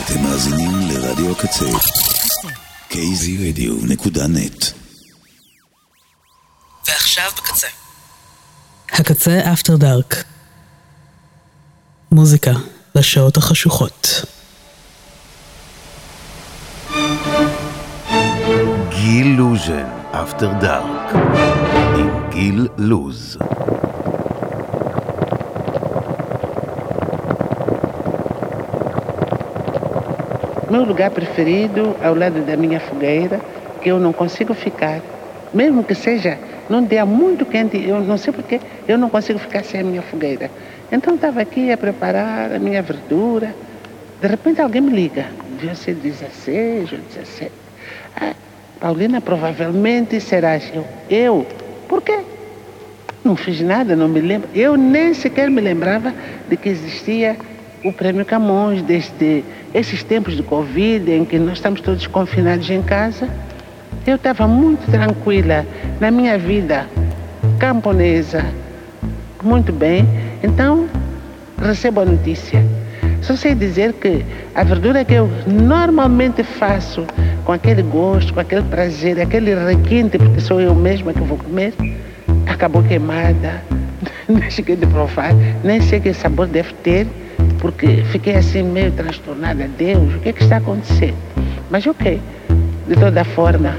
אתם מאזינים לרדיו הקצה kzradio.net. ועכשיו בקצה. הקצה אפטר דארק. מוזיקה לשעות החשוכות. גיל לוז'ן, אפטר דארק, עם גיל לוז. Meu lugar preferido ao lado da minha fogueira, que eu não consigo ficar. Mesmo que seja num dia muito quente, eu não sei porque eu não consigo ficar sem a minha fogueira. Então estava aqui a preparar a minha verdura. De repente alguém me liga. Devia ser 16 ou 17. Ah, Paulina, provavelmente serás eu. Eu? Por quê? Não fiz nada, não me lembro. Eu nem sequer me lembrava de que existia o Prêmio Camões, desde esses tempos de Covid, em que nós estamos todos confinados em casa. Eu estava muito tranquila na minha vida camponesa, muito bem. Então, recebo a notícia. Só sei dizer que a verdura que eu normalmente faço com aquele gosto, com aquele prazer, aquele requinte, porque sou eu mesma que vou comer, acabou queimada. Nem cheguei de provar, nem sei que sabor deve ter, porque fiquei assim meio transtornada. Deus, o que é que está acontecendo? Mas ok, de toda forma,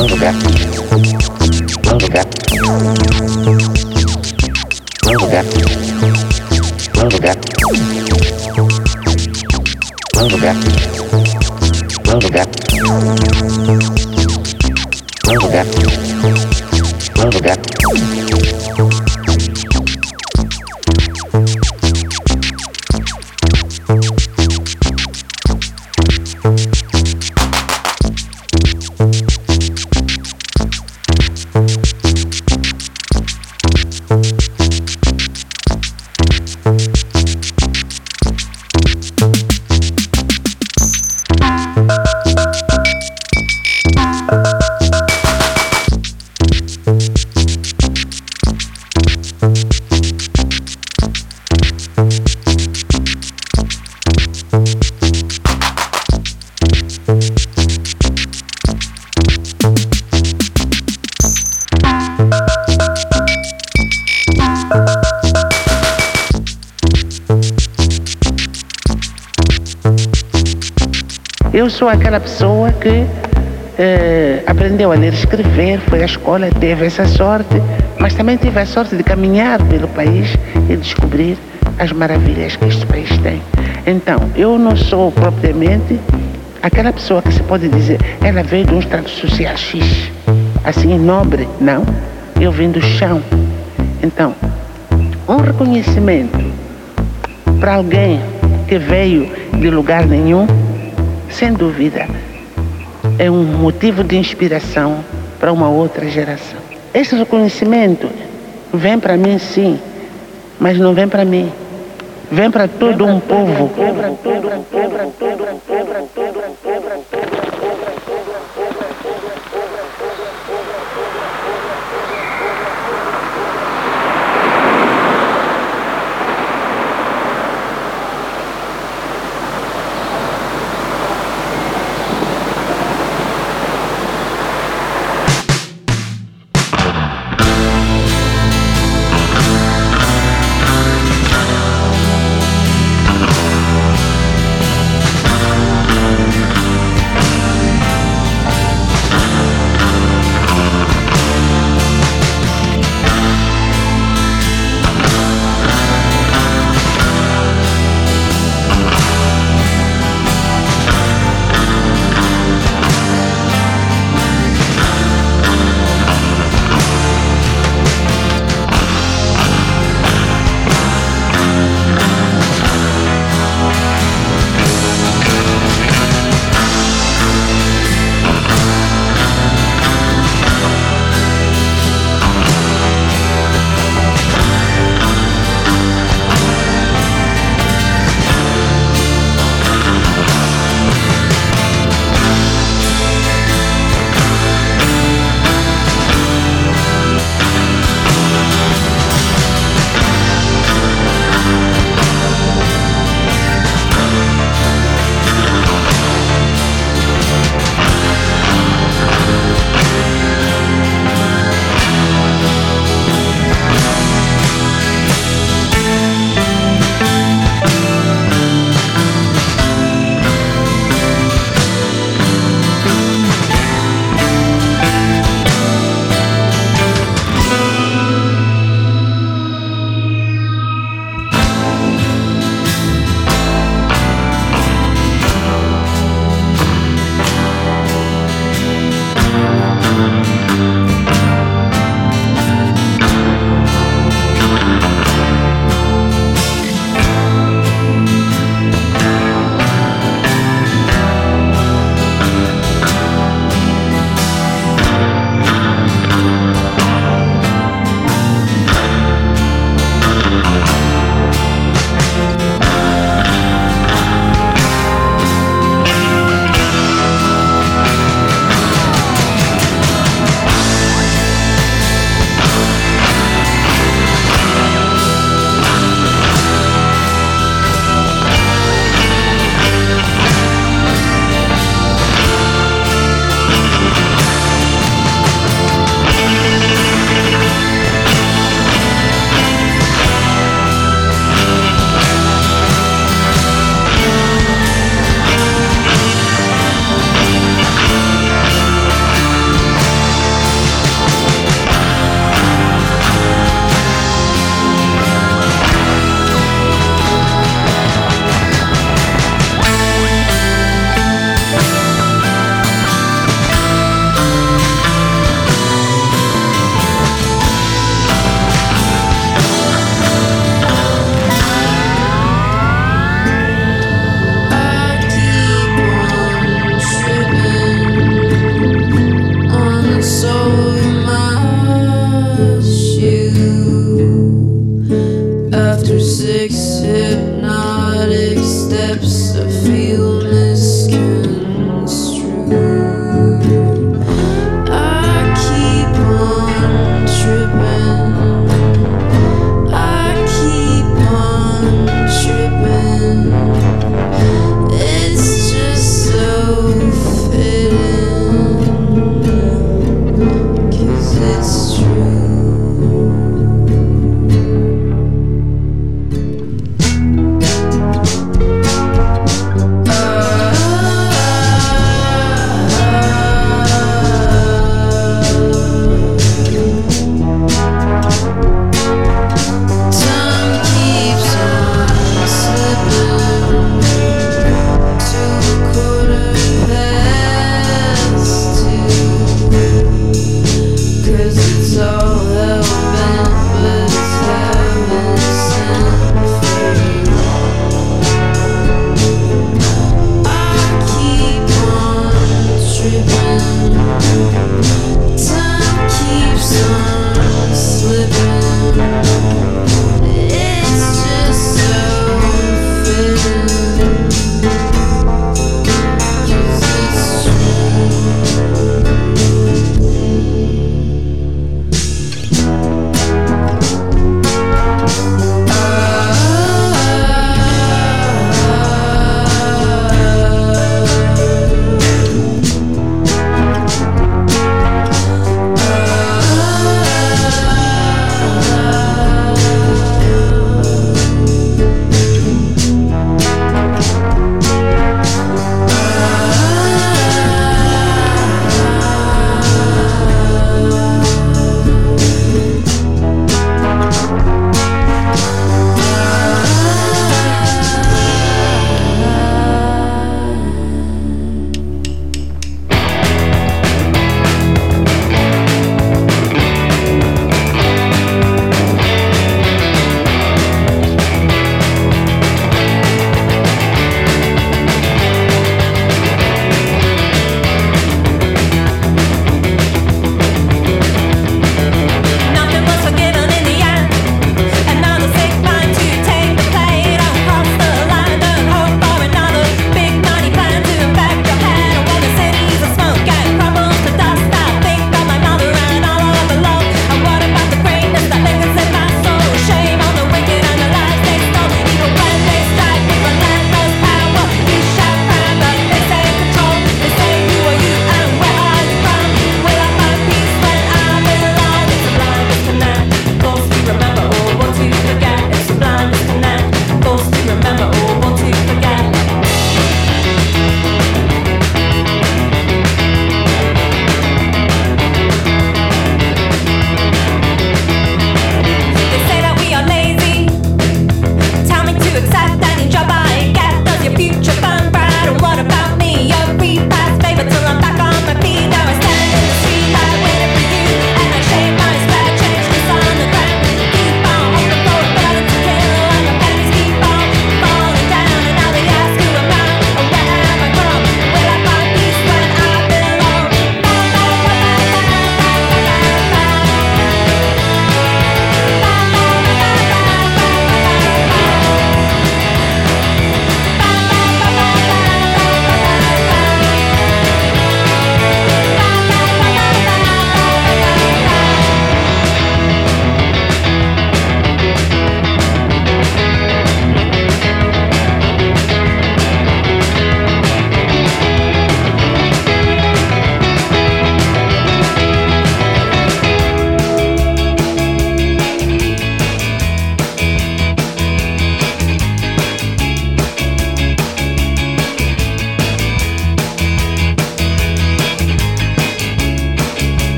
lugar, um lugar, um lugar, um lugar, um lugar, um lugar, um lugar, um lugar. Eu sou aquela pessoa que aprendeu a ler e escrever, foi à escola, teve essa sorte, mas também tive a sorte de caminhar pelo país e descobrir as maravilhas que este país tem. Então, eu não sou propriamente aquela pessoa que se pode dizer, ela veio de um estrato social X, assim, nobre, não. Eu vim do chão. Então, um reconhecimento para alguém que veio de lugar nenhum, sem dúvida, é um motivo de inspiração para uma outra geração. Esse reconhecimento vem para mim, sim, mas não vem para mim. Vem para todo um povo.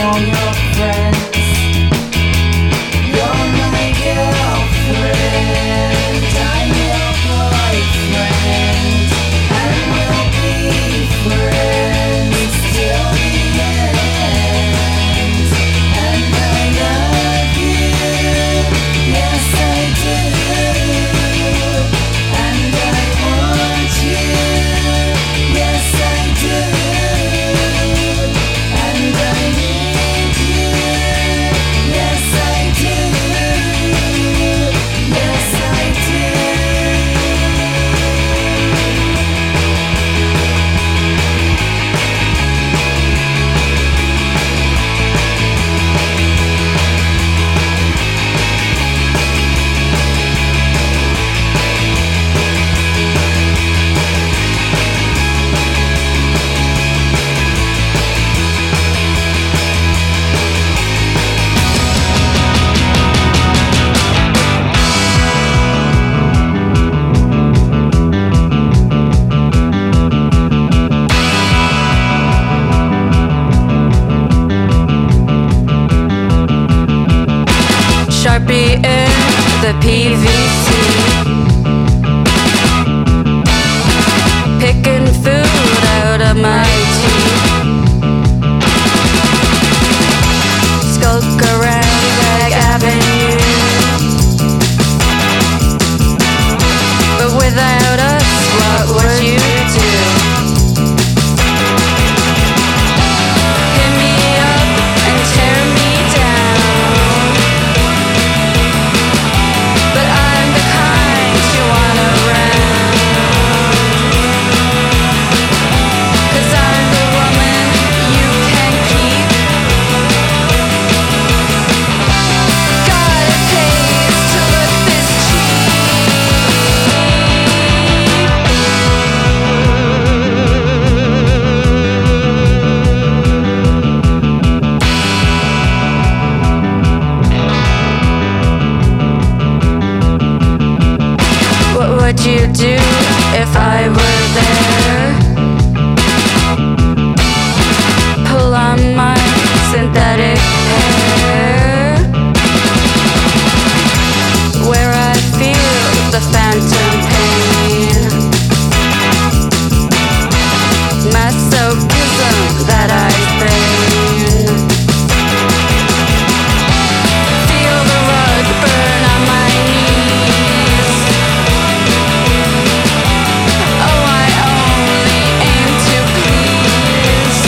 all your friends. You're my girlfriend, I'm your boyfriend, and we'll be friends till the end. And I love you, yes I do, and I want you, yes I do, and I need you, yes I do, yes I do. Sharpie in the PVC, picking food out of my teeth, skulk around Rag Avenue, but without us, what would you do? Hit me up and tear me down, but I'm the kind you want around, 'cause I'm the woman you can keep. God, it pays to look this cheap. What would you do if I were there? Pull on my synthetic hair, where I feel the phantom pain, masochism that I feign. Feel the rug burn on my knees. Oh, I only aim to please.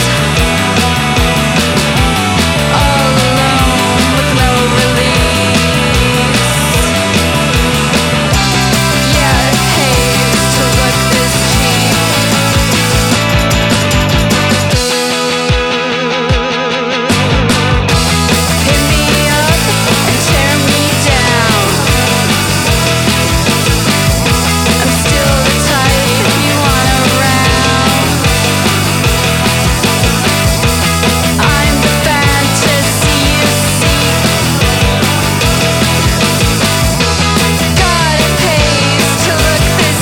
All alone with no release. Yeah, it pays to look this cheap. Hit me up and tear me down. I'm still the type you want around. I'm the fantasy you seek. God, it pays to look this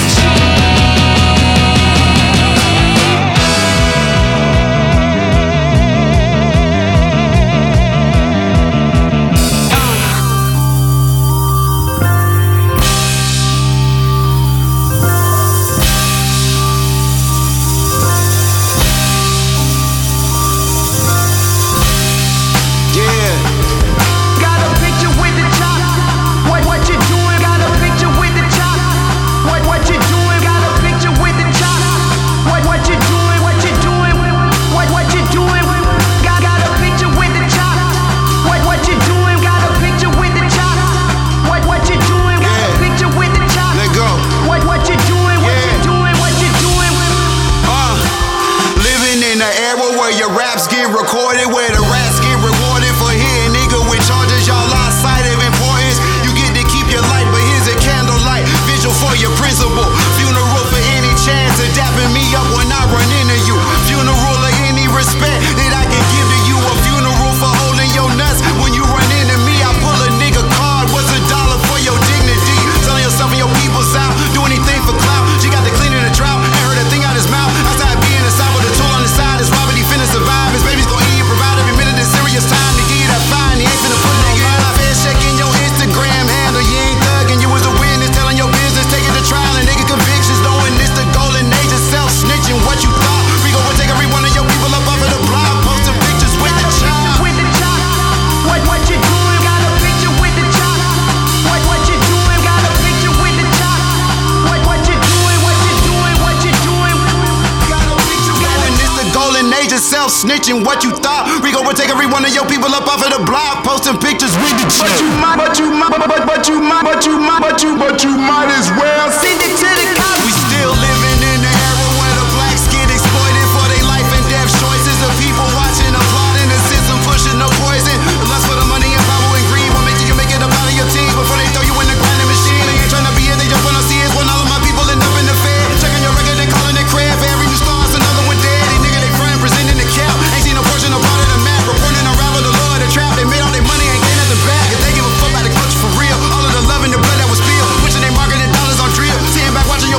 Yeah. Got a picture with the chop. What you doing? Got a picture with the chop. What you doing? Got a picture with the chop. What you doing? What you doing? What you doing? Got a picture with the chop. What you doing? Got a picture with the chop. What you doing? Got a picture with the chop. Let go. What you doing? What you doing? What you doing? Living in an era where your raps get recorded, where the rats get rewarded for hitting nigga with charges. Y'all lost sight of importance. You get to keep your light, but here's a candlelight vigil for your principal. Funeral for any chance of dapping me up when I run into you. Funeral of any respect that I can give to you. A funeral for holding your nuts when you run into me. I pull a nigga card. What's $1 for your dignity? Selling yourself and your people's out. Do anything for clout. She got the clean in the drought. Ain't heard a thing out his mouth. Outside being inside with a tool on the side. Is Robert, he finna survive. His baby's gon' eat and provide every minute. This serious time. snitching what you thought. Rico would take every one of your people up off of the block, posting pictures with the chick. But you might as well send it to the cops. We still living in the era where the blacks get exploited for their life and death choices. The people watching, applauding the system, pushing no poison. Lust for the money and power and greed will make you make it up out of your team before they throw you in the grinding machine. They ain't trying to be here, they just wanna see us when all of my people end up in the Fed. Checking your record and calling it crap. For every new star, it's another one dead. These niggas they frying, presenting the cap. Ain't seen a portion of part of the map. Reporting unravel the law of the trap. They made all their money, ain't gain nothing back. If they give a fuck about the culture for real, all of the love and the blood that was spilled, pushing their marketing dollars on drill. Sitting back watching your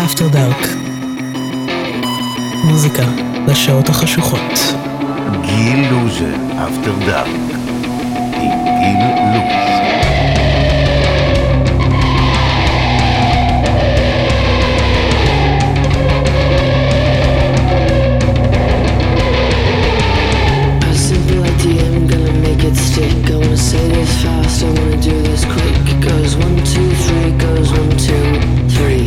After Dark. מוזיקה לשעות החשוכות. גיל לוז'ן, After Dark, עם גיל לוז. It stick. I wanna say this fast, I wanna do this quick. It goes 1, 2, 3, goes 1, 2, 3.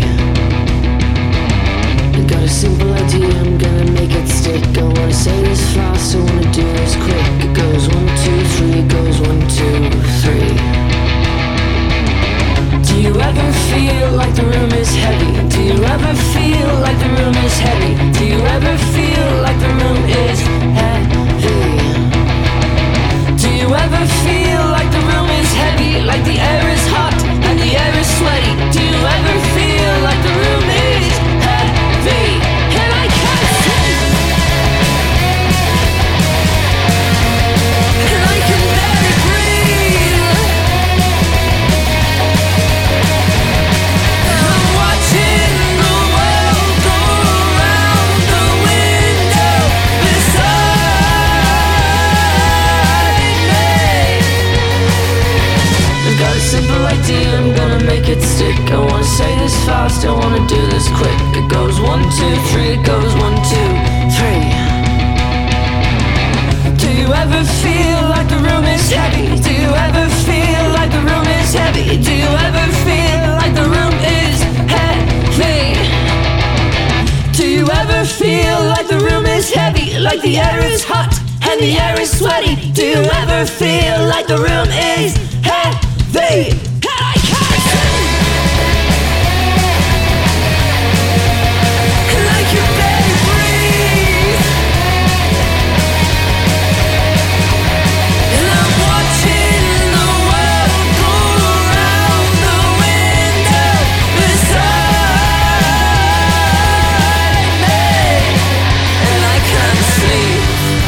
I got a simple idea, I'm gonna make it stick. I wanna say this fast, I wanna do this quick. It goes 1, 2, 3, goes 1, 2, 3. Do you ever feel like the room is heavy? Do you ever feel like the room is heavy? Do you ever feel like the room is heavy? Do you ever feel like the room is heavy, like the air is hot and the air is sweaty? Do you ever feel like the room is heavy and I can't sleep? And I can barely breathe. I'm watching the world go round the window beside me. I've got a simple idea, I'm gonna make it stick. I wanna say this fast, I wanna do this quick. It goes 1, 2, 3, it goes 1, 2, 3. Do you ever feel like the room is heavy? Do you ever feel like the room is heavy? Do you ever feel like the room is heavy? Do you ever feel like the room is heavy, like the air is hot and the air is sweaty? Do you ever feel like the room is heavy? And I can't sleep. And I can barely breathe. And I'm watching the world go round the window beside me. And I can't sleep.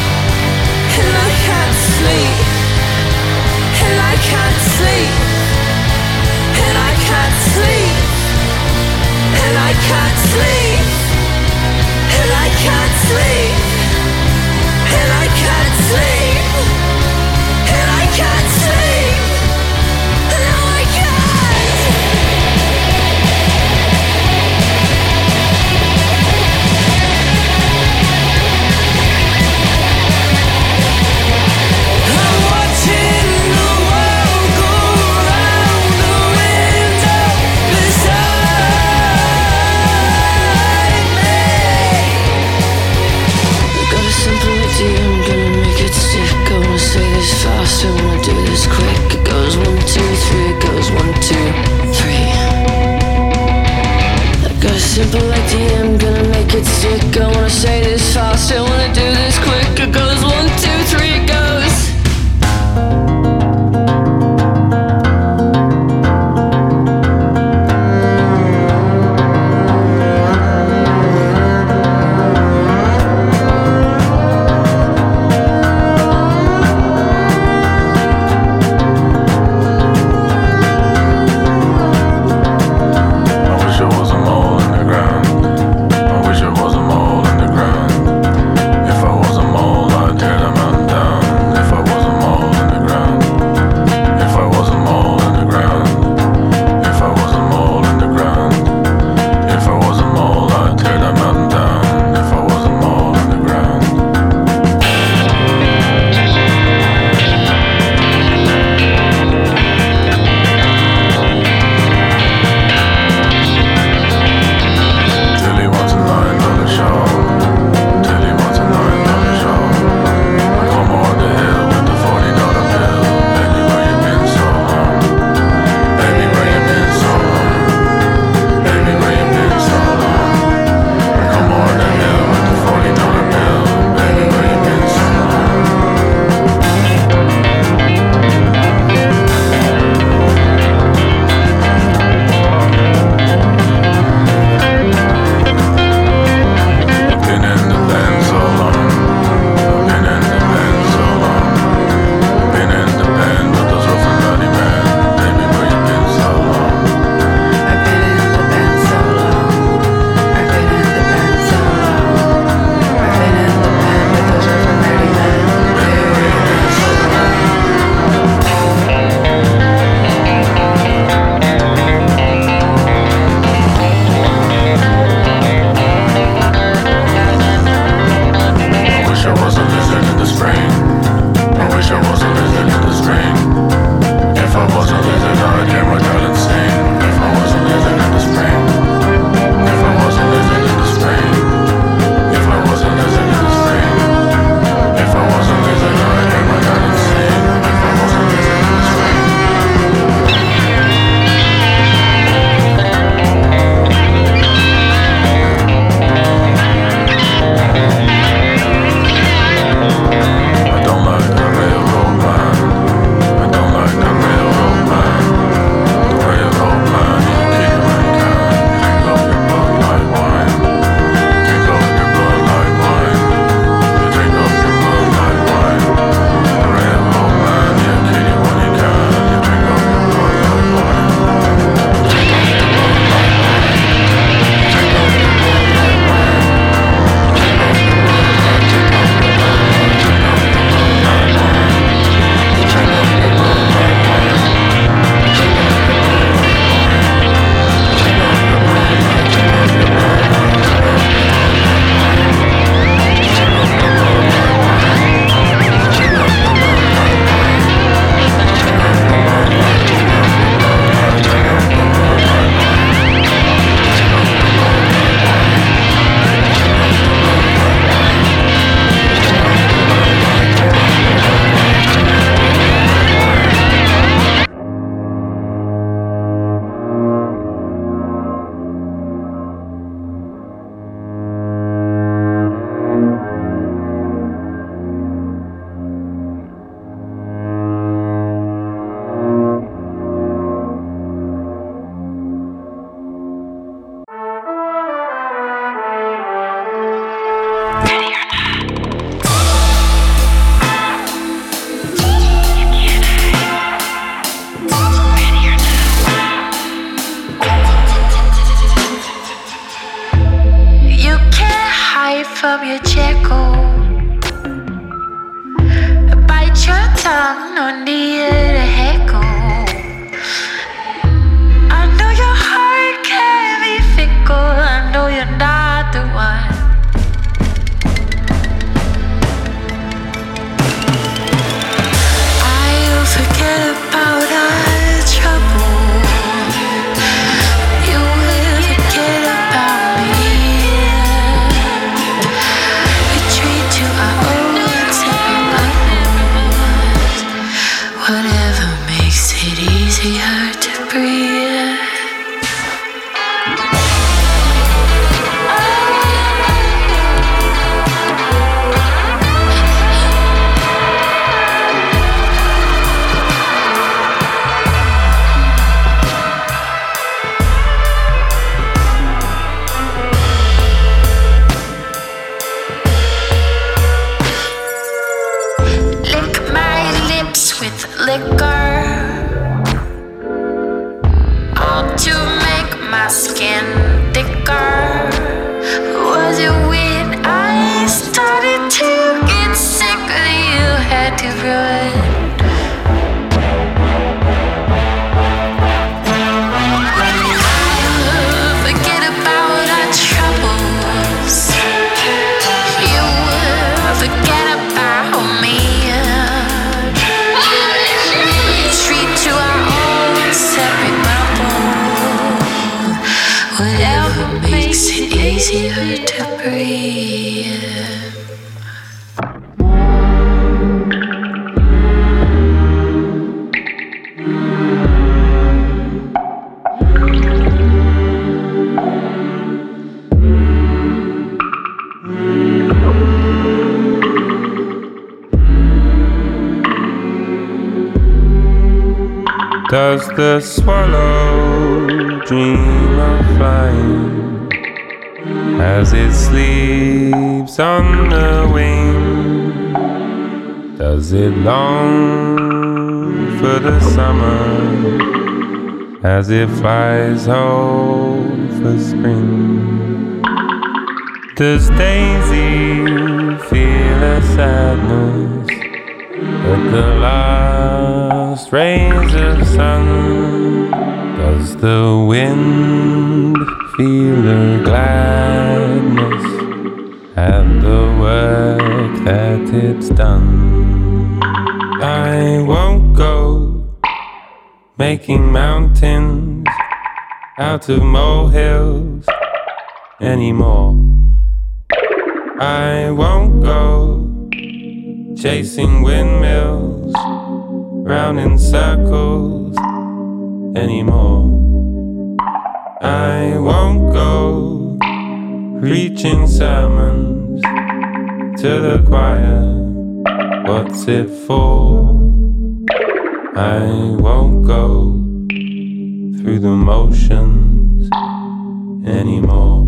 And I can't sleep. And I can't sleep. time, no need to echo. I know your heart can be fickle. I know you're not the one. I'll forget about our trouble. You will forget about me. Retreat to our own separate bubbles. Whatever makes it easier to breathe. Lick my lips with liquor, all to make my skin thicker. Was it when I started to get sick that you had to run? I'll forget about our troubles. You will forget about me. Retreat to our own separate bubble. Whatever makes it easier to breathe. Does the swallow dream of flying as it sleeps on the wing? Does it long for the summer as it flies home for spring? Does Daisy feel a sadness at the last rays of sun? Does the wind feel a gladness at the work that it's done? I won't go making mountains out of molehills anymore. I won't go chasing windmills round in circles anymore. I won't go preaching sermons to the choir. What's it for? I won't go through the motions anymore.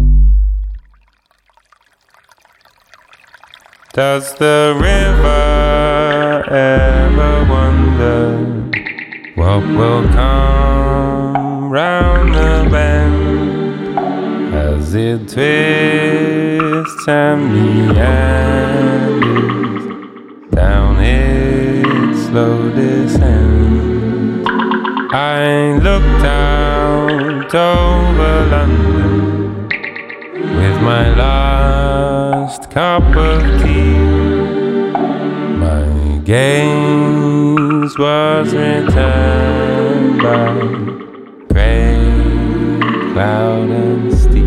Does the river ever wonder what will come round the bend as it twists and meanders down its slow descent? I looked out over London with my last cup of tea. My gaze was returned by grey cloud and steam.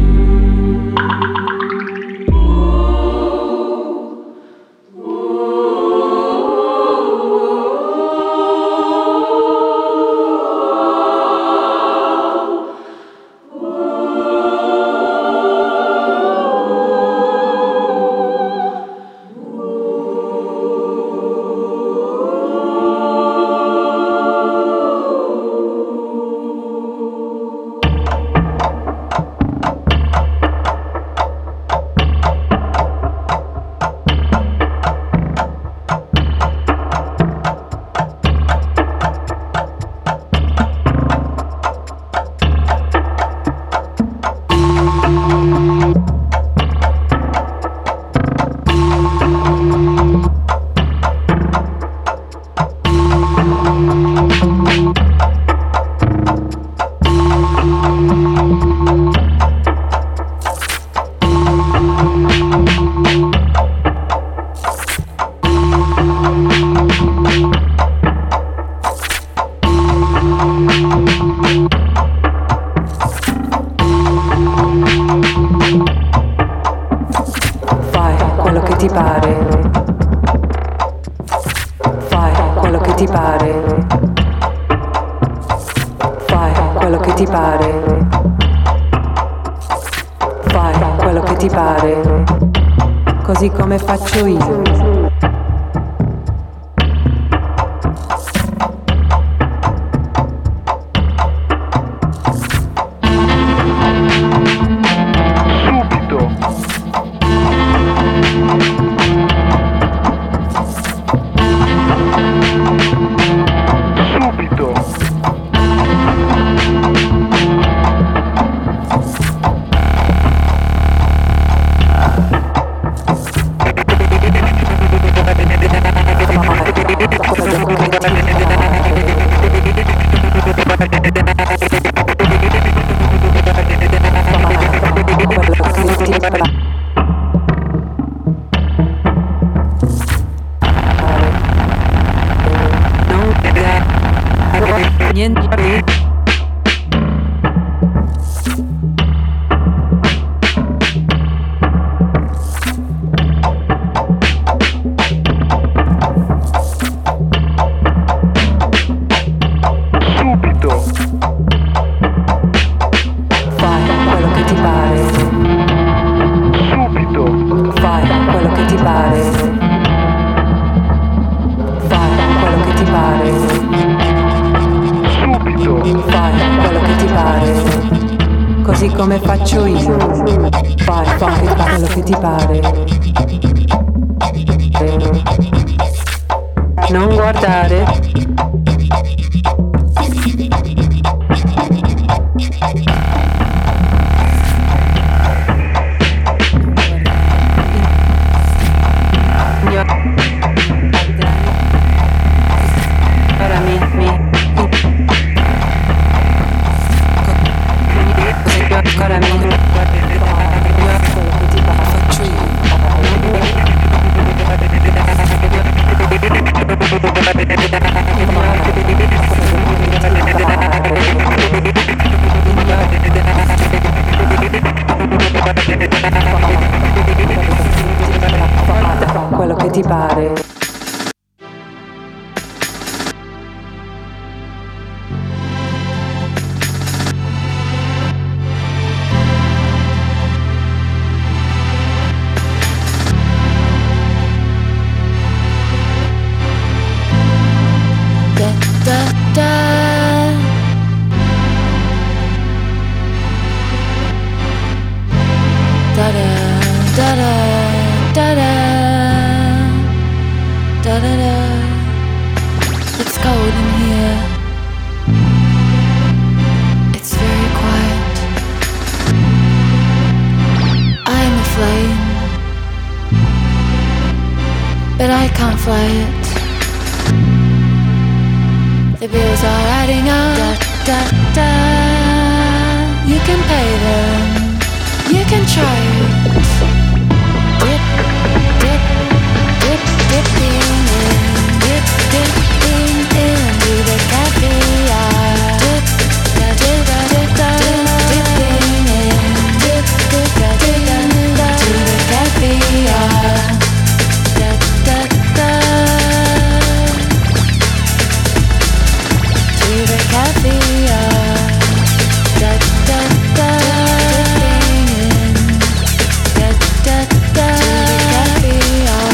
che ti pare. Fai quello che ti pare. Fai quello che ti pare. Così come faccio io. Come faccio io, fai quello che ti pare. Non guardare. Quello che ti pare. It's cold in here. It's very quiet. I'm a flame, but I can't fly it. The bills are adding up. Da, da, da. You can pay them. You can try it. Dip, dip, dip, dipping in. Dip, dipping into the caviar. Dip, da, dip, da, dip, da, dipping in. Dip, dip, da, dip, da, to the caviar. Da, da, da. To the caviar. Da, da, da. Dipping in. Da, da, da. To the caviar.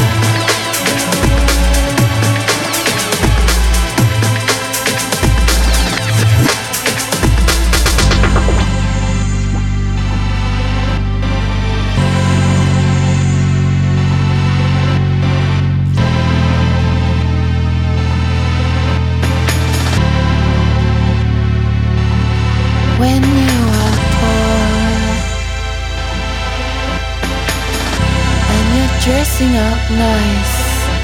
When you are poor and you're dressing up nice,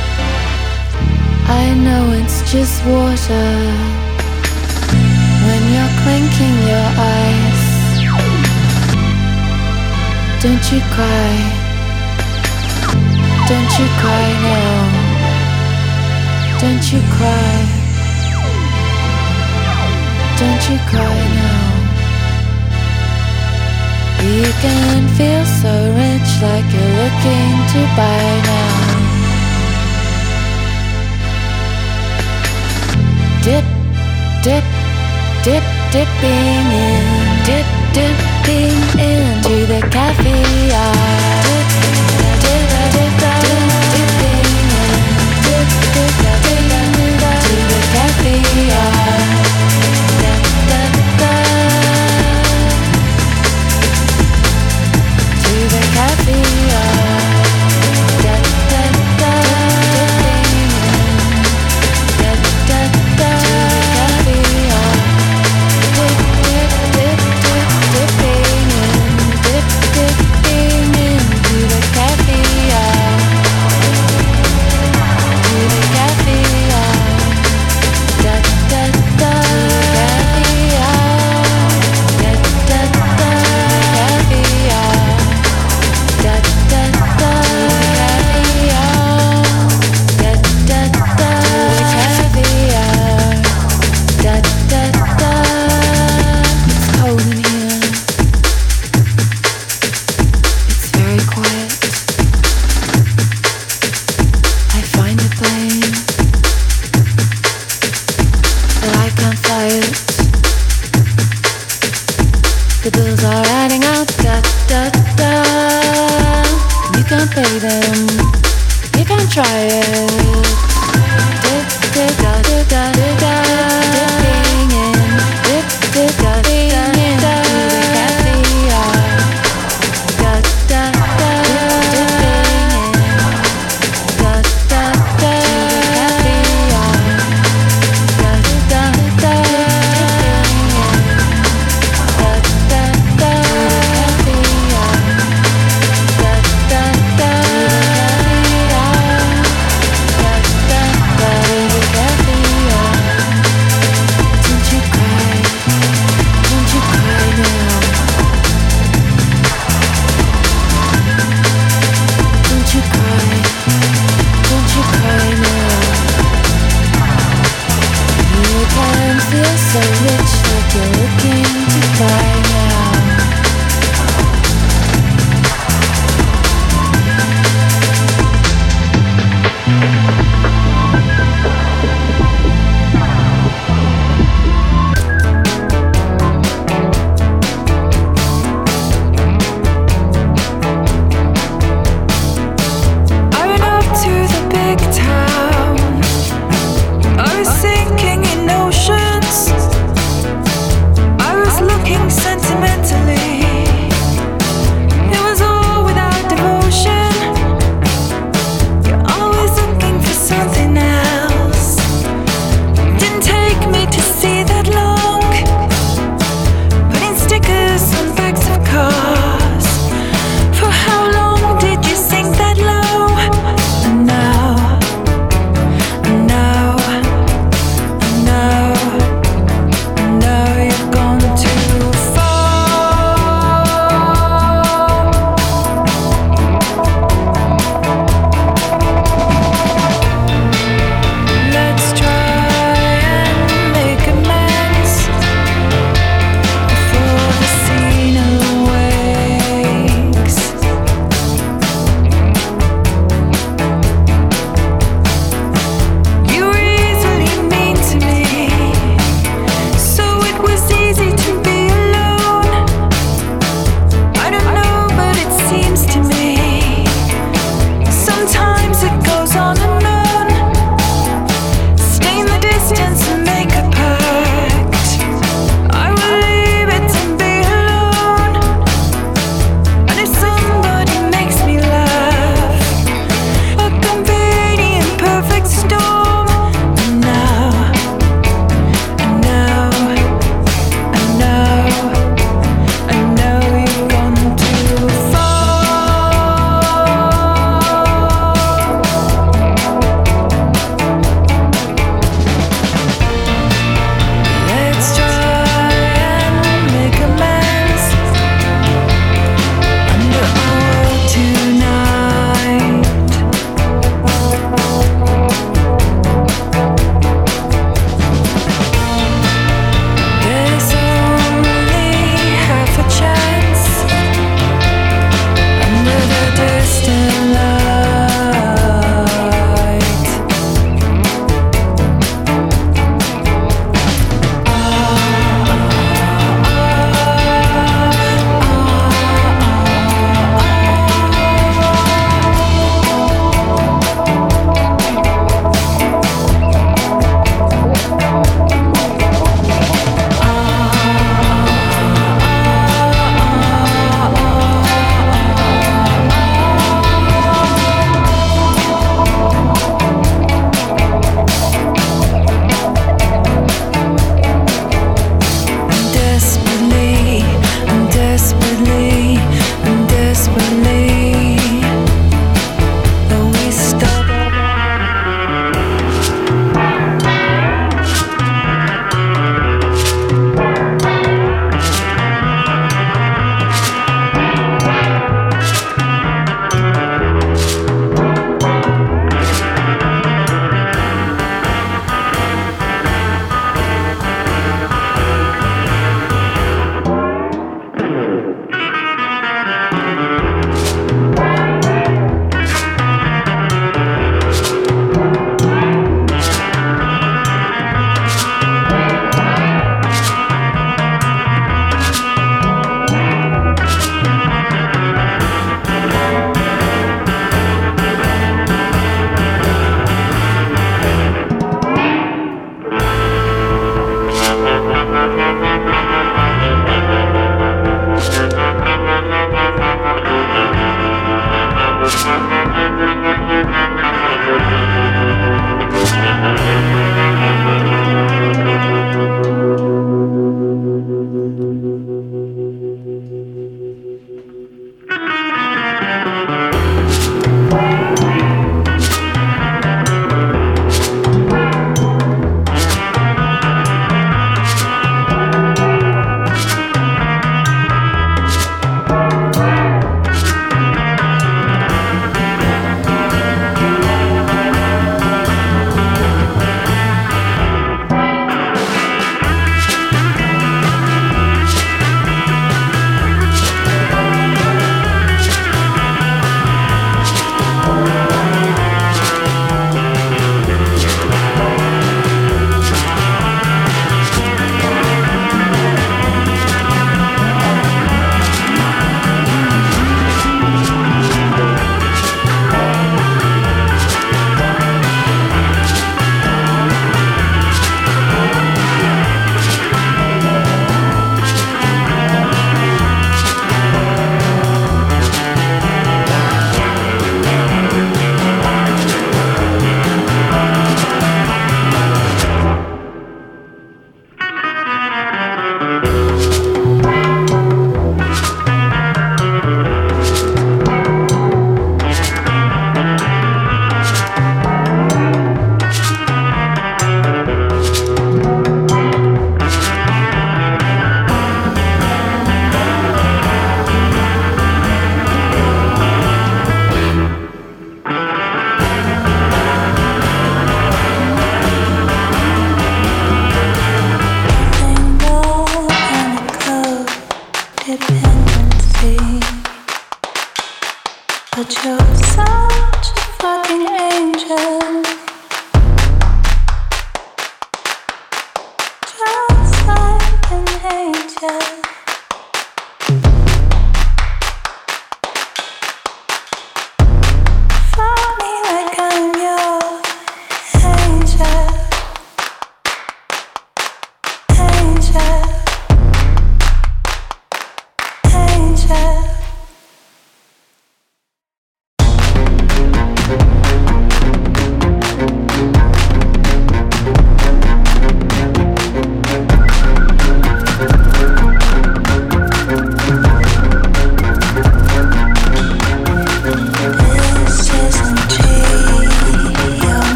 I know it's just water. When you're clinking your eyes, don't you cry, don't you cry now, don't you cry, don't you cry now. You can feel so rich, like you're looking to buy now. dip, dip, dip, dipping in, dip, dipping into the caviar. Dip, dip, dip, dip, dipping in, dip, dip, dipping into the caviar. Da, da, da, to the caviar. Da, da, da, dipping in, da, da, da, to the caviar. Dip, dip, dip, dip, dipping in, dip, dipping in.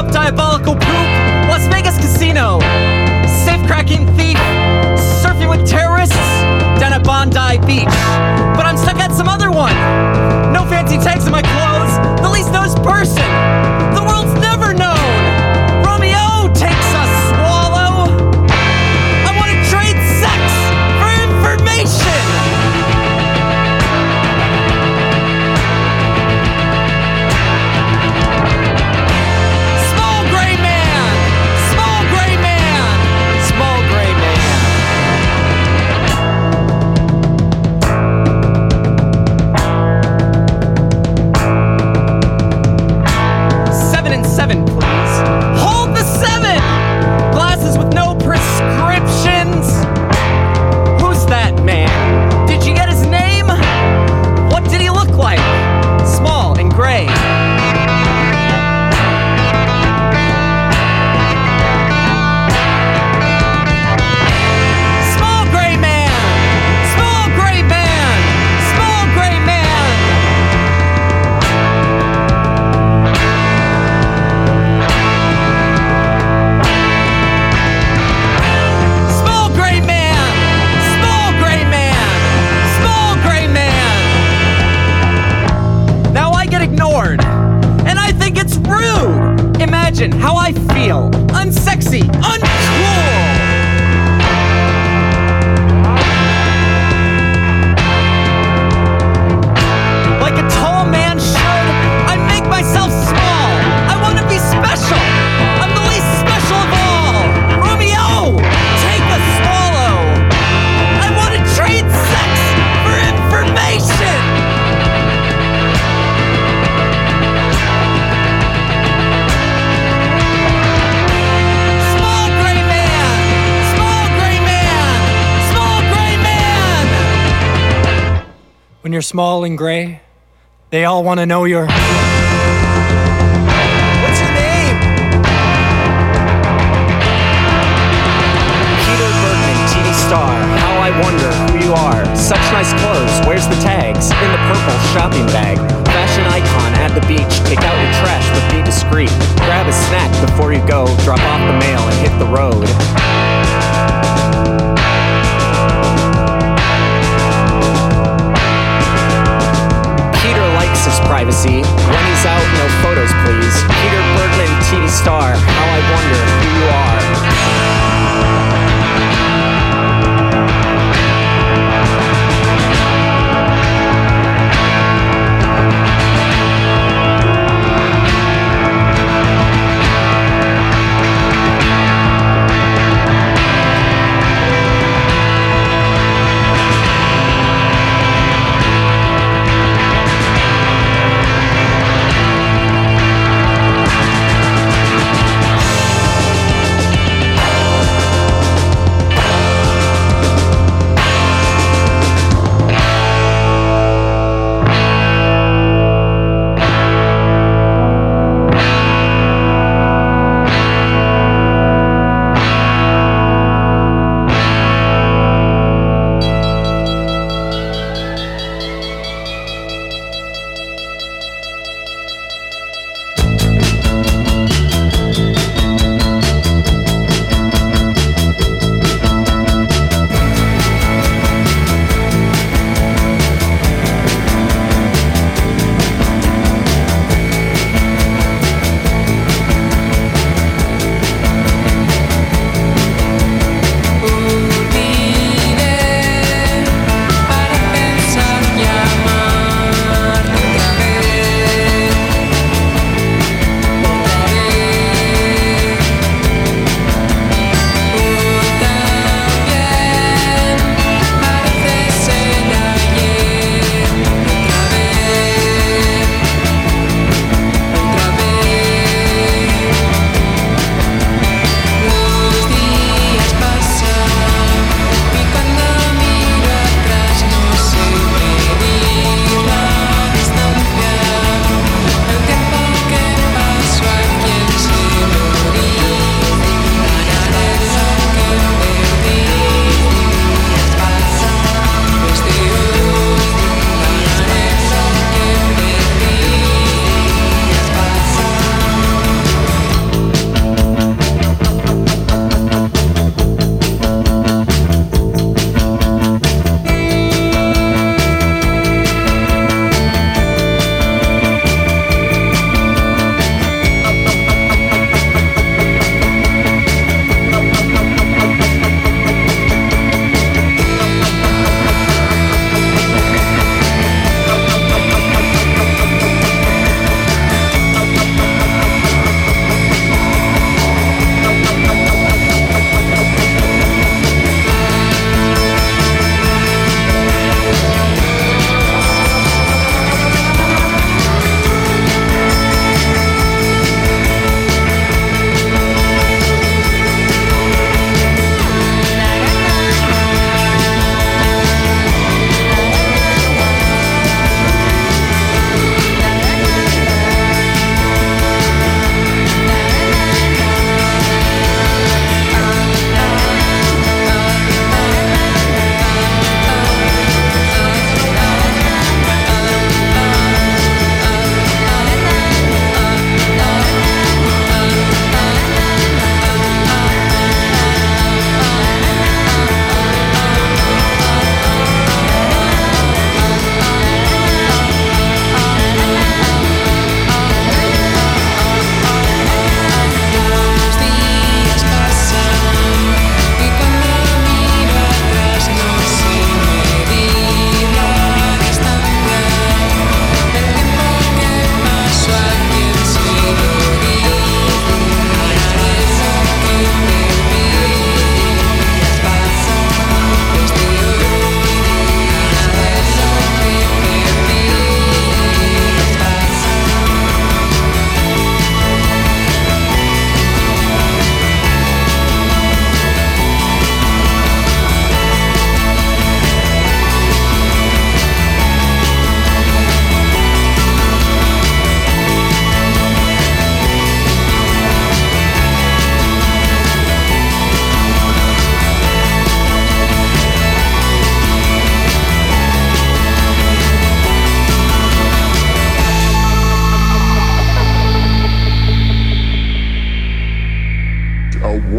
top diabolical poop, Las Vegas casino, safe-cracking thief, surfing with terrorists down at Bondi Beach. But I'm stuck at some other one. No fancy tags in my clothes, the least nosed person. The world's never known. Romeo takes a swallow. I want to trade sex for information. Small gray man, small gray man, small gray man. 7 and 7, please. Hold the 7! Glasses with no prescriptions. Who's that man? Did you get his name? What did he look like? Small and gray. Small gray man! Small gray man! Small gray man! Small gray man! Small gray man! Small gray man! Now I get ignored, and I think it's rude. Imagine how I feel. Unsexy, uncool. Like a tall man should, I make myself small. I want to be special. I'm the least special of all. Romeo, take a swallow. I want to trade sex for information. Small gray man, small gray man, small gray man. When you're small and gray, they all want to know your... What's your name? Peter Bergman, TV star. How I wonder who you are. Such nice clothes. Where's the tags? In the purple shopping bag. Fashion icon at the beach. Take out your trash, but be discreet. Grab a snack before you go. Drop off the mail and hit the road. Peter likes his privacy. When he's out, no photos, please. Peter Bergman, TV star. How I wonder who you are.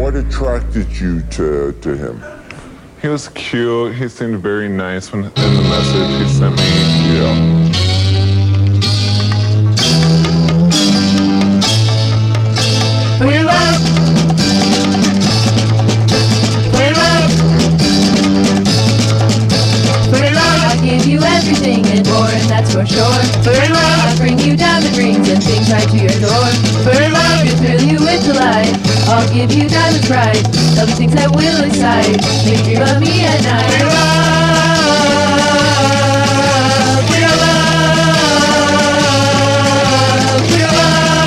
what attracted you to him? He was cute. He seemed very nice in the message he sent me. Yeah. For your love. For your love. For your love. I give you everything and more, and that's for sure. For your love. I bring you diamond rings and things right to your door. For your love. To thrill you with delight. I'll give you diamond pride. All the things that will excite. Make you dream of me at night. For your love. For your love. For your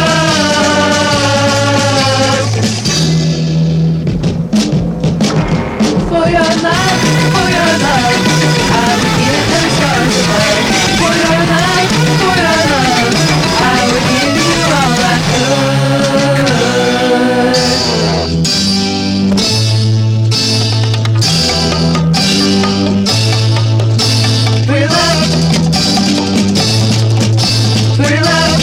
love. For your love. For your love. I would give the stars above. For your love. For your love. I would give you all I could. For your love. For your love.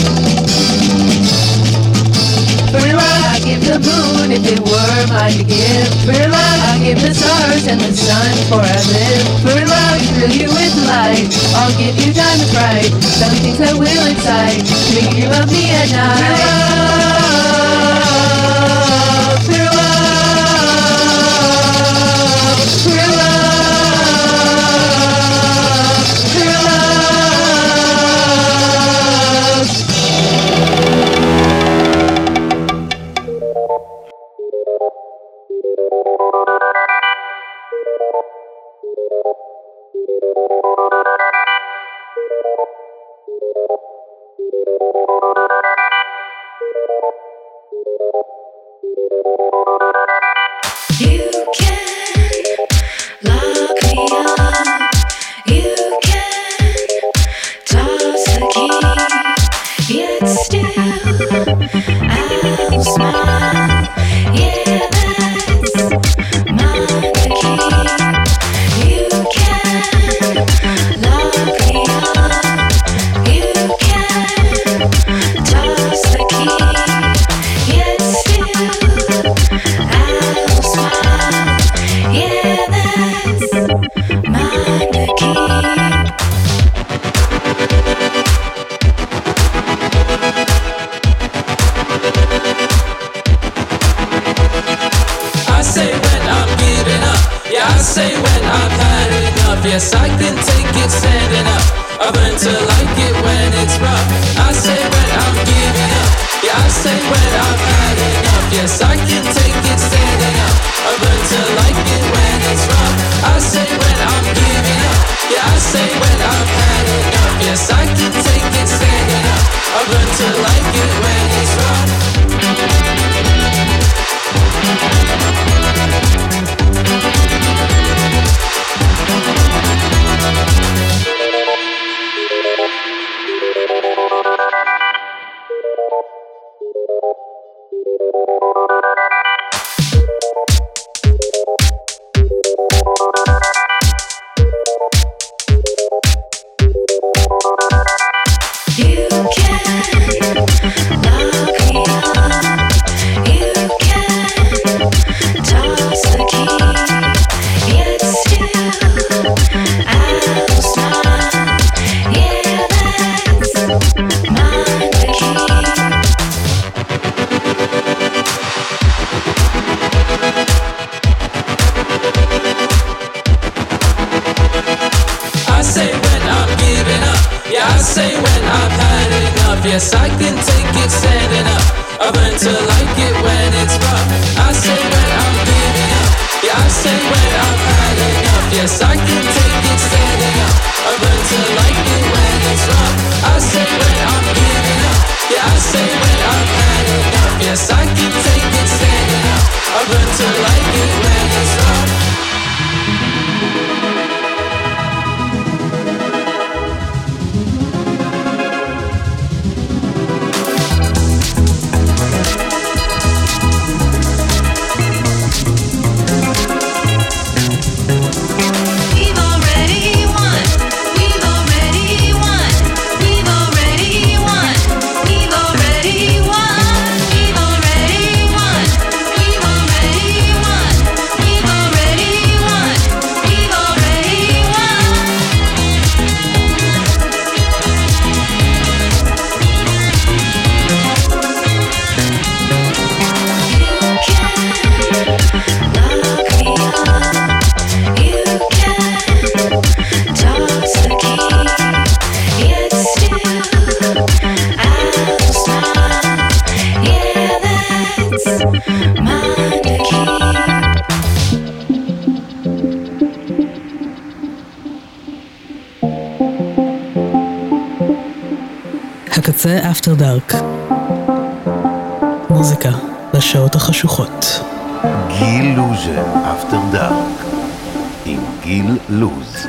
For your love. I give the moon if it were mine to give. For your love. I give the stars and the sun before I live. For your love. Thrill you with light. I'll give you diamond bright. Some things that will excite. To make you dream of me at night. For your love. For your love. For your love. You can lock me up, you can toss the key, yet still I'll smile. Yeah, that's my key. You can lock me up, you can toss the key, yet still I'll smile. Yeah, that's my key. I say when I'm giving up. Yeah, I say when I've had enough. Yes, I can take it standing up. I've learned to like it when it's rough. I say when I'm giving up. Yeah, I say when I've had enough. Yes, I can take it standing up. I've learned to like it when it's rough. I say when I'm giving up. Yeah, I say when I've had enough. Yes, I can take it standing up. I've learned to like it when it's rough. You can lock me up, you can toss the key, yet still I'll smile. Yeah, that's my key. I say when I'm giving up. Yeah, I say when I've had enough. Yes, I can take it standing up. I've learned to like it when it's rough. I say when I'm giving up. Yeah, I say when I've had enough. Yes, I can take it standing up. I've learned to like it when it's rough. I say when I'm giving up. Yeah, I say when I've had enough. Yes, I can take it standing up. I've learned to like it when it's rough. We've already won. We've already won. We've already won. We've already won. We've already peace, mine to keep. הקצה אפטר דארק. מוזיקה לשעות החשוכות. גיל לוז'ה אפטר דארק עם גיל לוז.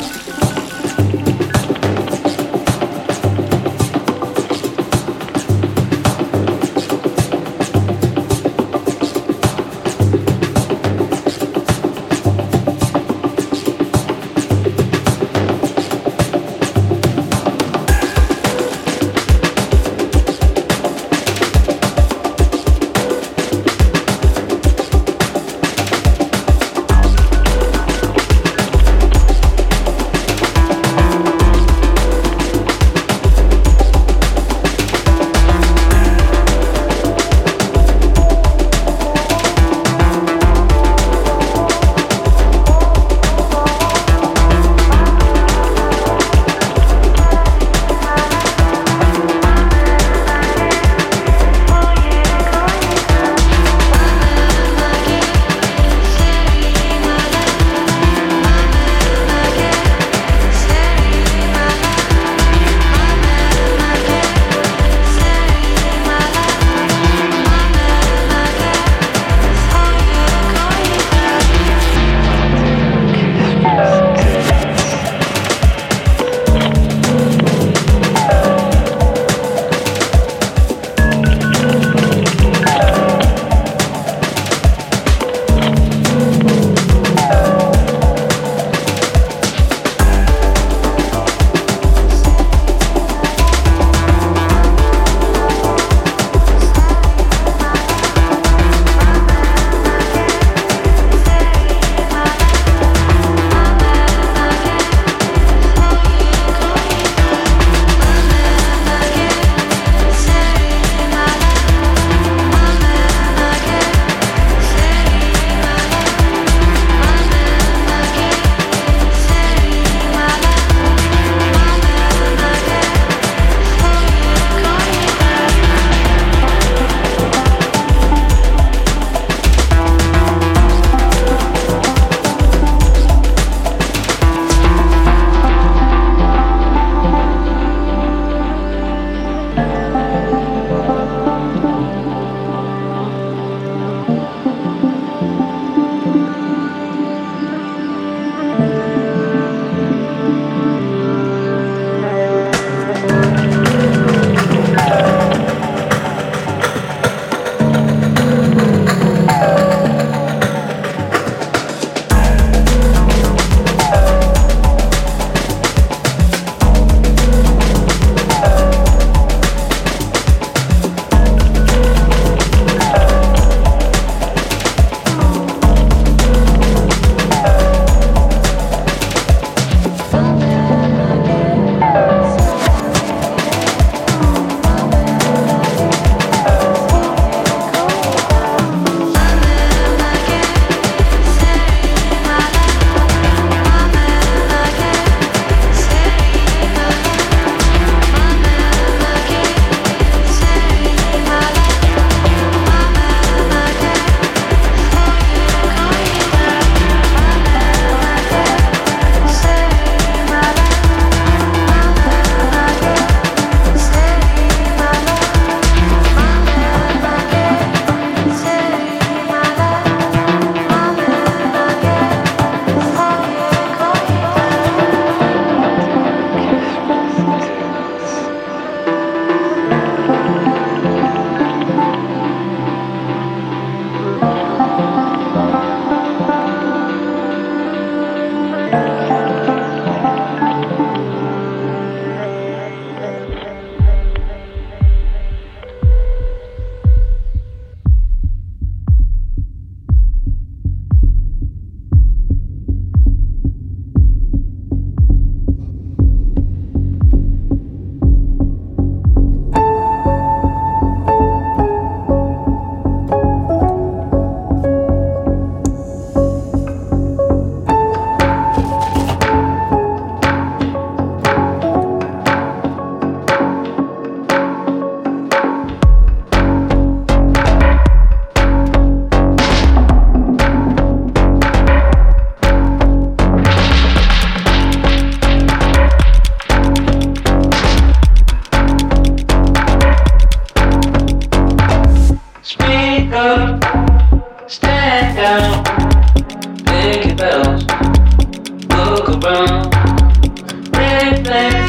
Speak up, stand down, pick your bells, look around, reflect,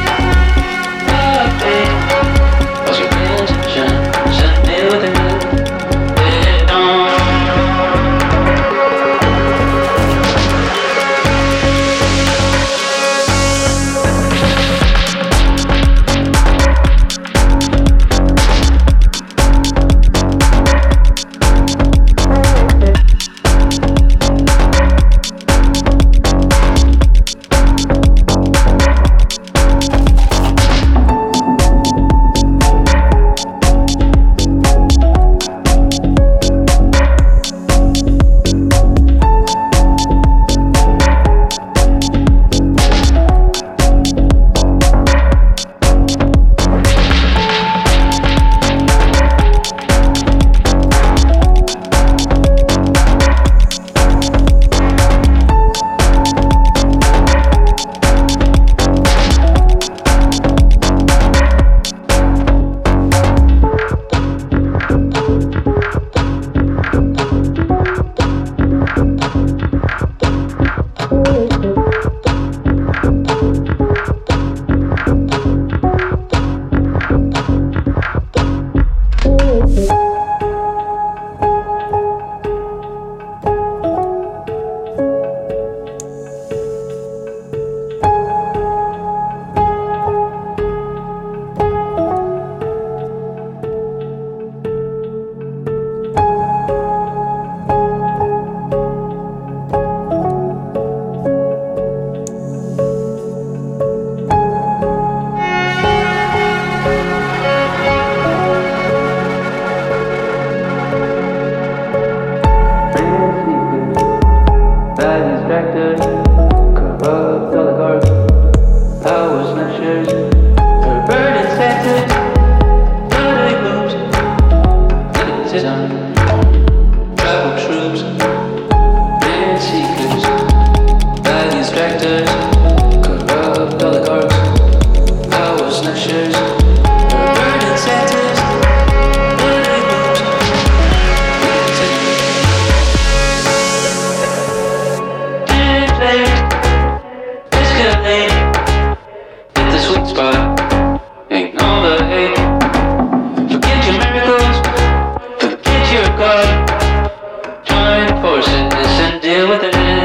update, cause your attention, set me with a good, it on. Forces and deal with it.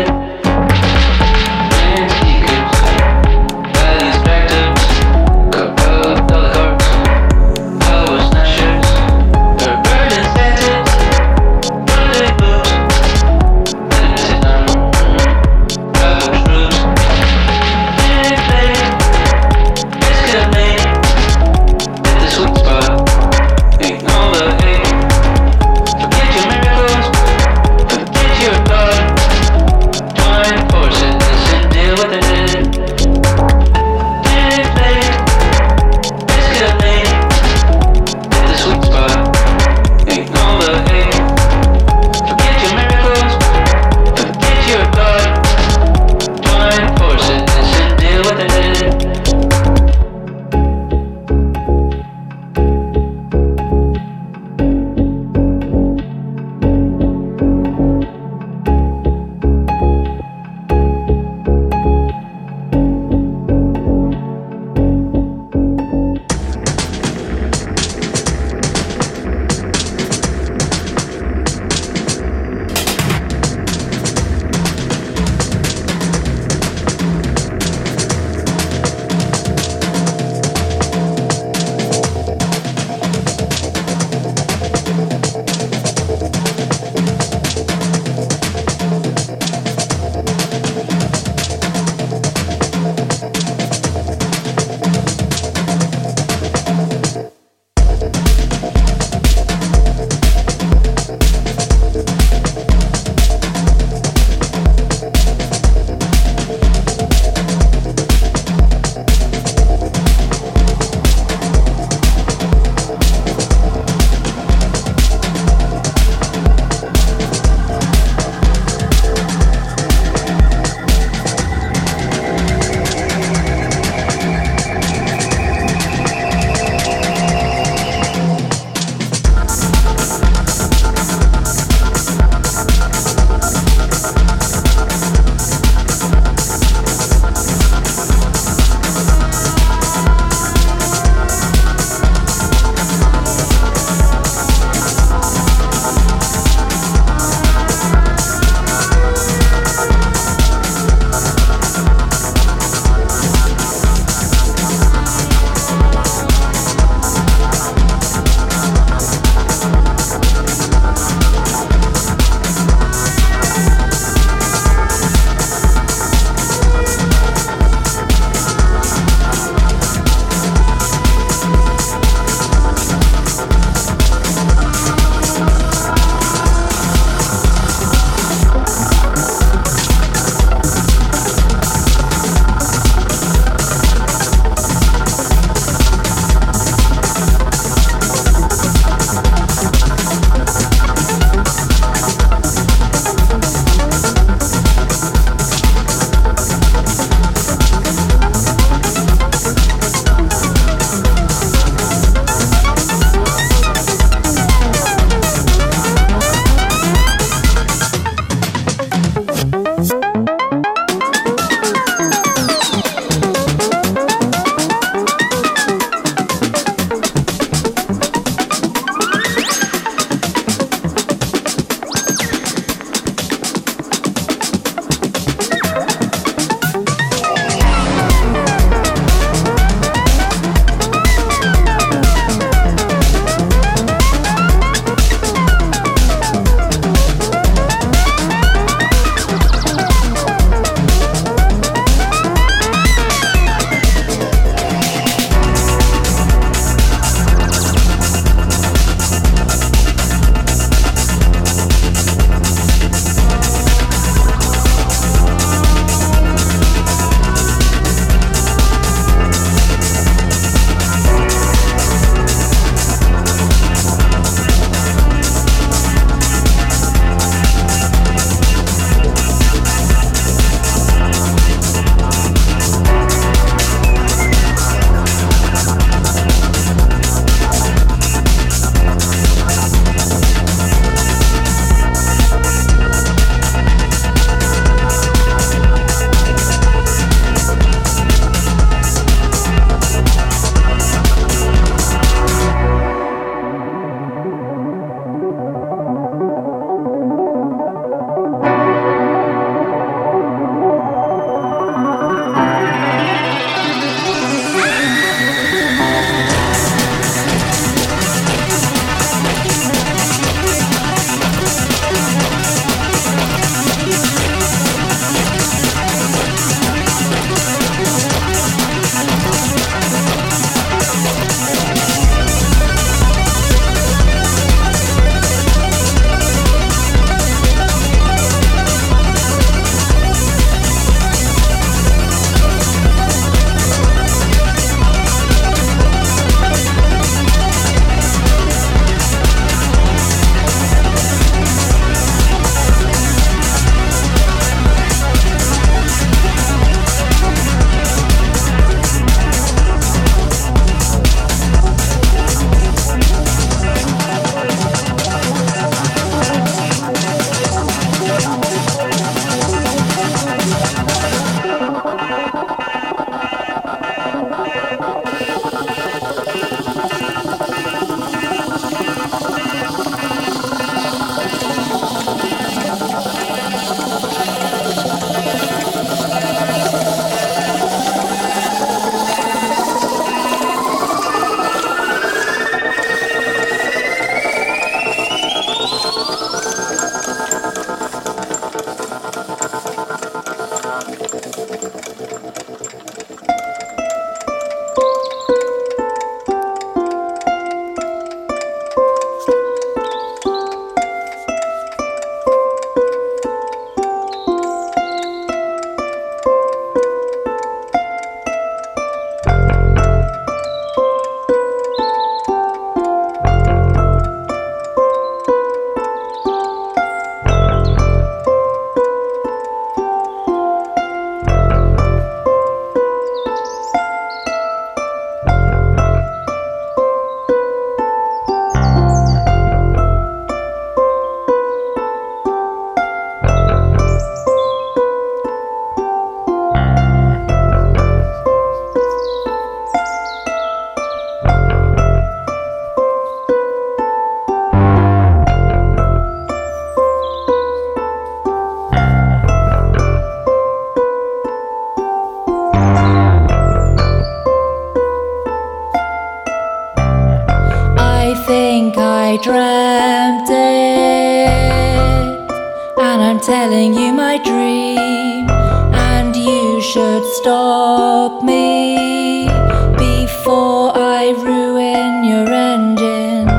telling you my dream, and you should stop me before I ruin your engines,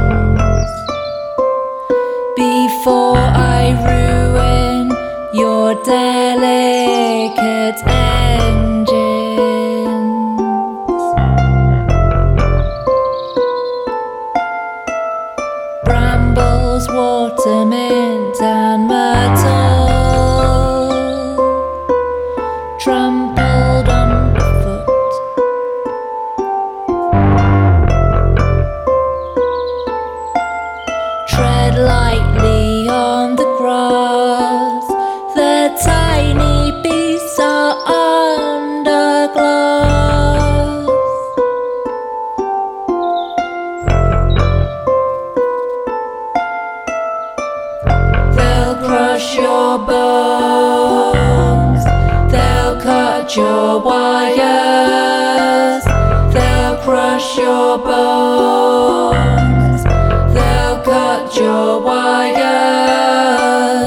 before I ruin your delicate engines. Brambles, water, mint and myrtle trampled underfoot. Tread lightly on the grass, the tiny beasts are under glass. They'll crush your bones, they'll cut your wires, they'll crush your bones, they'll cut your wires.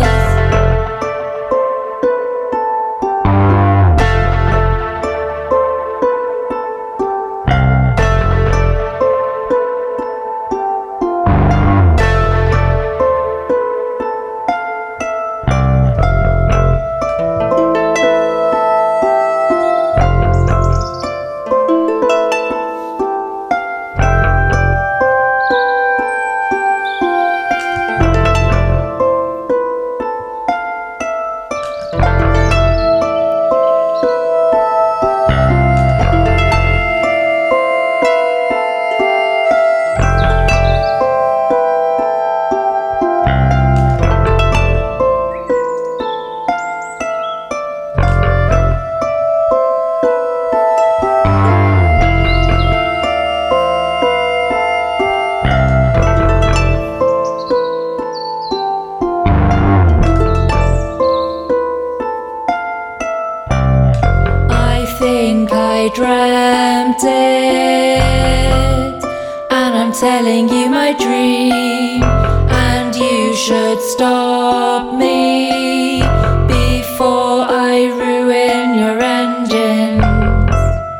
I dreamt it, and I'm telling you my dream, and you should stop me before I ruin your engines,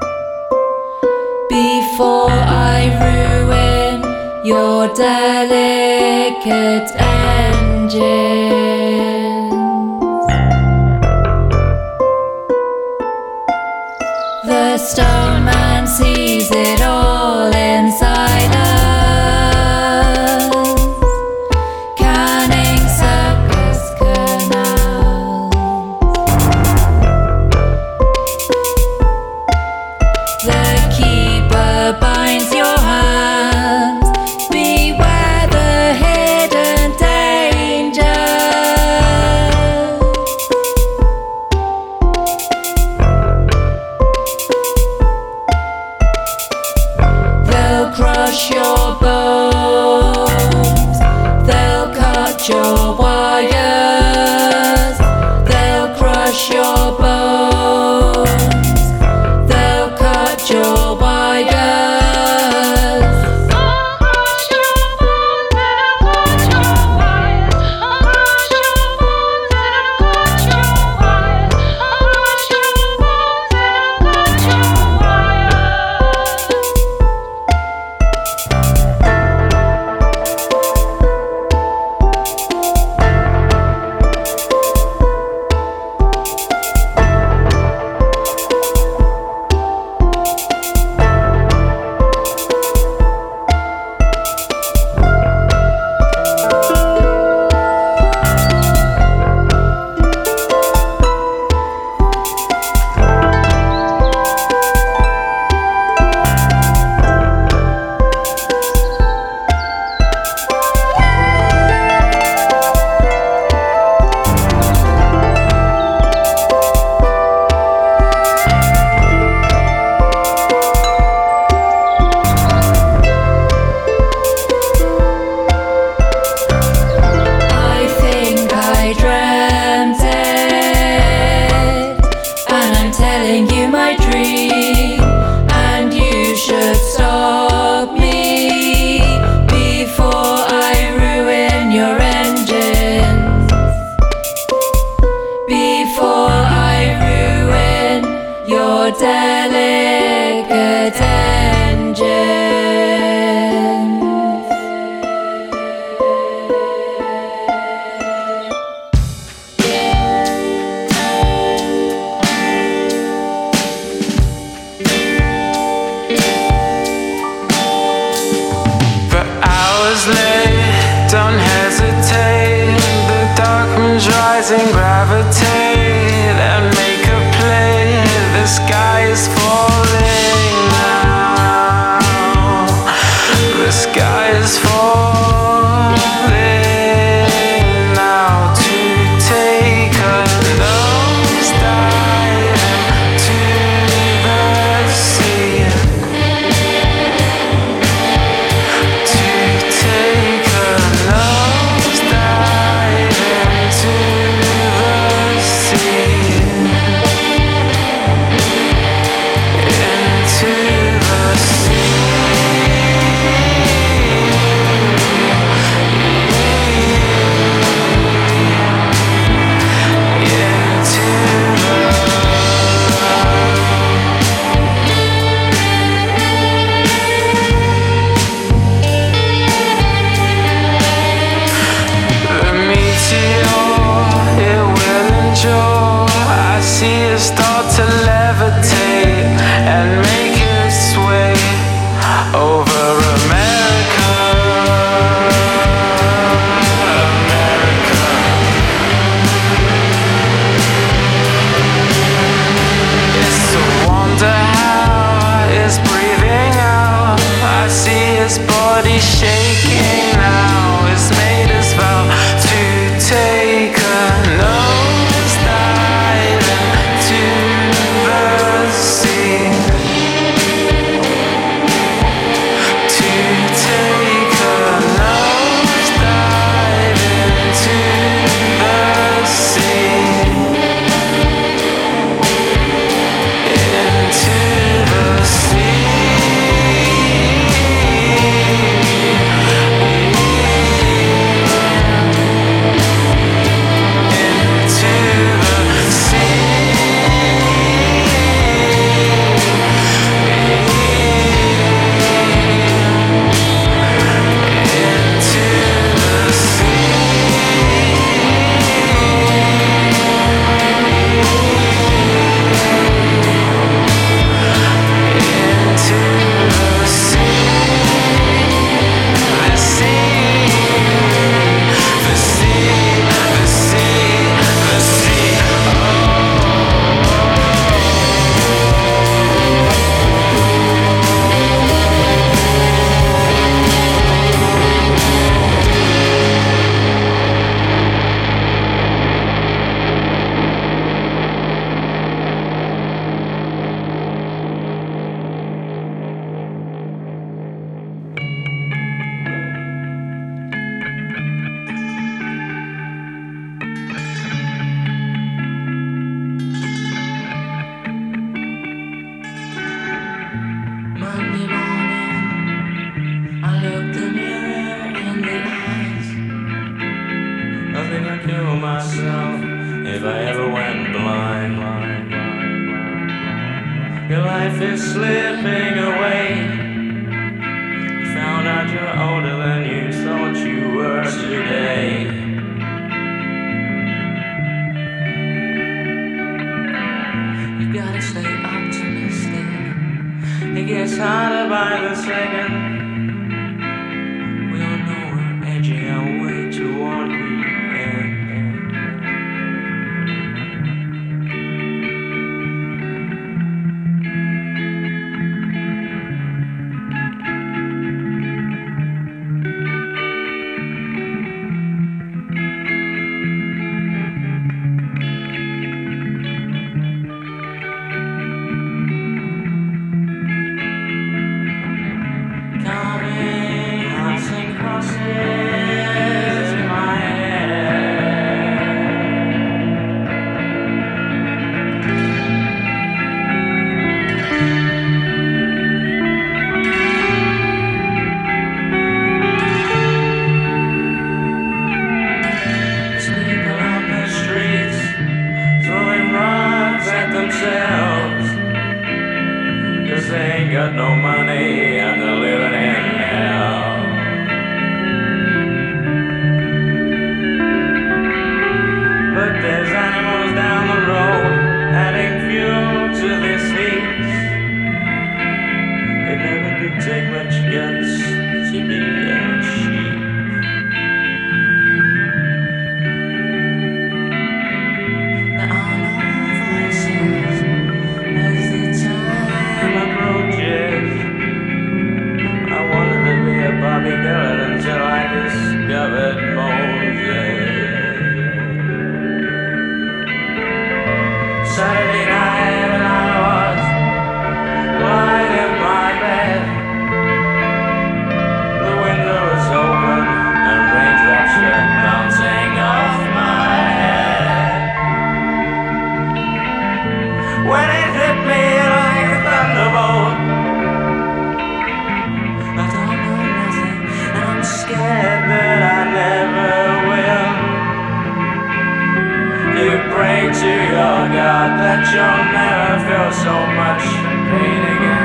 before I ruin your delicate engines. The stone man sees it all in silence, canning circus canals. The keeper binds your hands, beware the hidden danger. They'll crush your bones, they'll cut your wires, they'll crush your bones, they'll cut your wires. rise and gravitate and make a play. The sky is falling now. The sky is falling now to take a nosedive into the sea. To take a nosedive into the sea. Into the sea. I see it start to levitate and make its way over America. America. It's a wonder how it's breathing out. I see its body shaking now. It's made its vow to take a nosedive into the sea. To take a nosedive into the sea. Into the sea. Monday morning, I looked the mirror in the eyes. I think I'd kill myself if I ever went blind. Your life is slipping away. You found out you're older than you thought you were today. You gotta stay optimistic. It gets harder by the second. We all know we're edging our way toward the end. that you'll never feel so much pain again.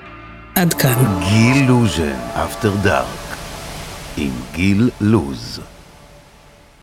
עד כאן. גיל לוז'ן, אפטר דארק, עם גיל לוז.